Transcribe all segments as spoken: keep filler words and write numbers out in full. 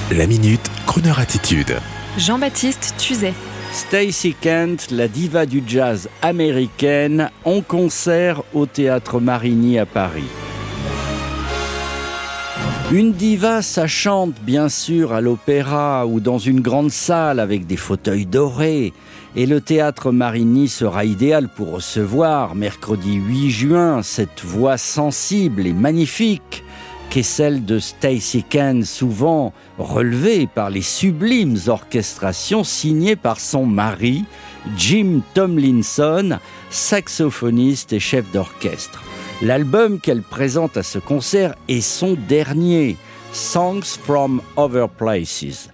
La Minute, Crooner Attitude. Jean-Baptiste Tuzet. Stacey Kent, la diva du jazz américaine, en concert au Théâtre Marigny à Paris. Une diva, ça chante bien sûr à l'opéra ou dans une grande salle avec des fauteuils dorés. Et le Théâtre Marigny sera idéal pour recevoir, mercredi huit juin, cette voix sensible et magnifique qu'est celle de Stacey Kent, souvent relevée par les sublimes orchestrations signées par son mari, Jim Tomlinson, saxophoniste et chef d'orchestre. L'album qu'elle présente à ce concert est son dernier, Songs from Other Places.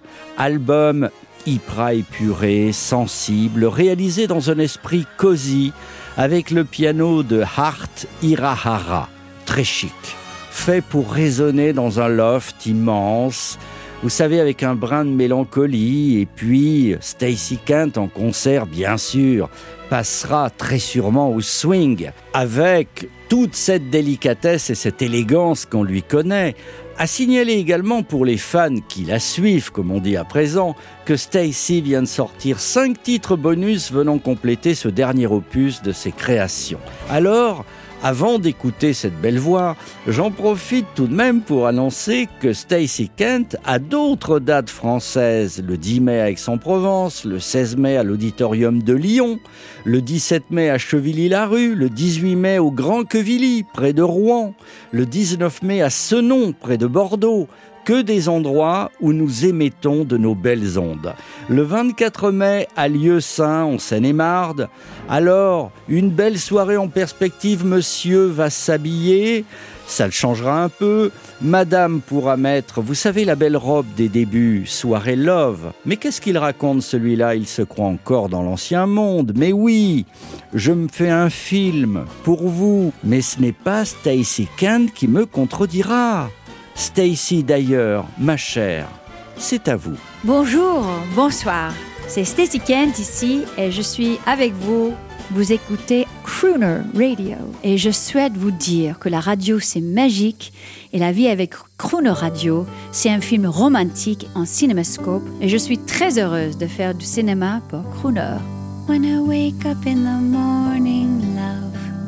Album hyper épuré, sensible, réalisé dans un esprit cosy, avec le piano de Art Hirahara, très chic, fait pour résonner dans un loft immense, vous savez, avec un brin de mélancolie. Et puis Stacey Kent en concert, bien sûr, passera très sûrement au swing, avec toute cette délicatesse et cette élégance qu'on lui connaît. À signaler également pour les fans qui la suivent, comme on dit à présent, que Stacey vient de sortir cinq titres bonus venant compléter ce dernier opus de ses créations. Alors, avant d'écouter cette belle voix, j'en profite tout de même pour annoncer que Stacey Kent a d'autres dates françaises, le dix mai à Aix-en-Provence, le seize mai à l'Auditorium de Lyon, le dix-sept mai à Chevilly-la-Rue, le dix-huit mai au Grand Quevilly, près de Rouen, le dix-neuf mai à Senon, près de Bordeaux. Que des endroits où nous émettons de nos belles ondes. Le vingt-quatre mai à Lieusaint, en Seine-et-Marne. Alors, une belle soirée en perspective, monsieur va s'habiller, ça le changera un peu. Madame pourra mettre, vous savez, la belle robe des débuts, soirée love. Mais qu'est-ce qu'il raconte celui-là? Il se croit encore dans l'ancien monde. Mais oui, je me fais un film pour vous. Mais ce n'est pas Stacey Kent qui me contredira. Stacey, d'ailleurs, ma chère, c'est à vous. Bonjour, bonsoir. C'est Stacey Kent ici et je suis avec vous. Vous écoutez Crooner Radio. Et je souhaite vous dire que la radio, c'est magique. Et la vie avec Crooner Radio, c'est un film romantique en cinémascope. Et je suis très heureuse de faire du cinéma pour Crooner. When I wake up in the morning, love,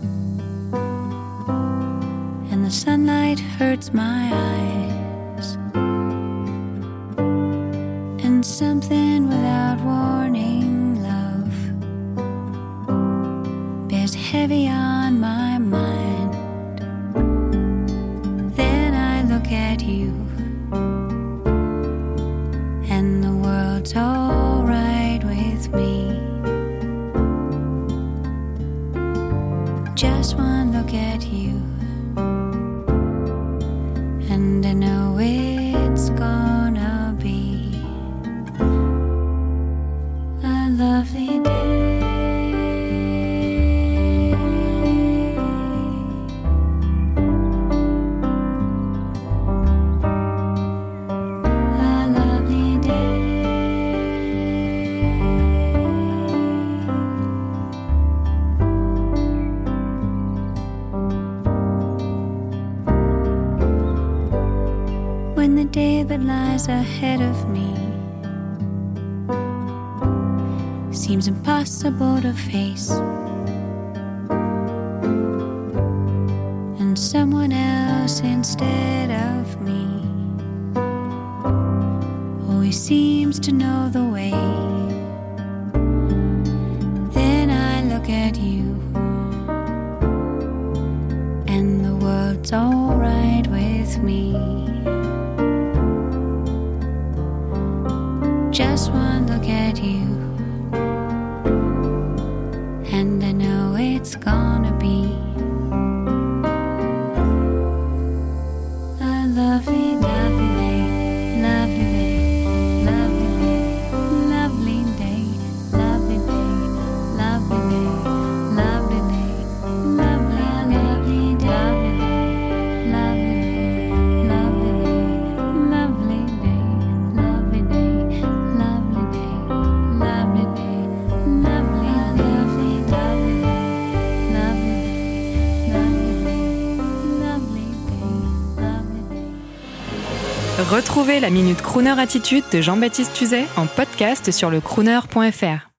and the sunlight hurts my eyes, and something without warning, love, bears heavy on my mind. Then I look at you, and the world's all right with me. Just one look at you, and I know it's gonna be a lovely day. A lovely day. When the day that lies ahead of me seems impossible to face, and someone else instead of me always seems to know the way, then I look at you, and the world's all right with me. Just one look at you, and I know it's gonna be a lovely, lovely day, lovely day, lovely day, lovely day, lovely day, lovely day, lovely day, lovely, lovely day, lovely day, lovely day, lovely day, lovely day, lovely day. Retrouvez la Minute Crooner Attitude de Jean-Baptiste Tuzet en podcast sur le crooner point f r.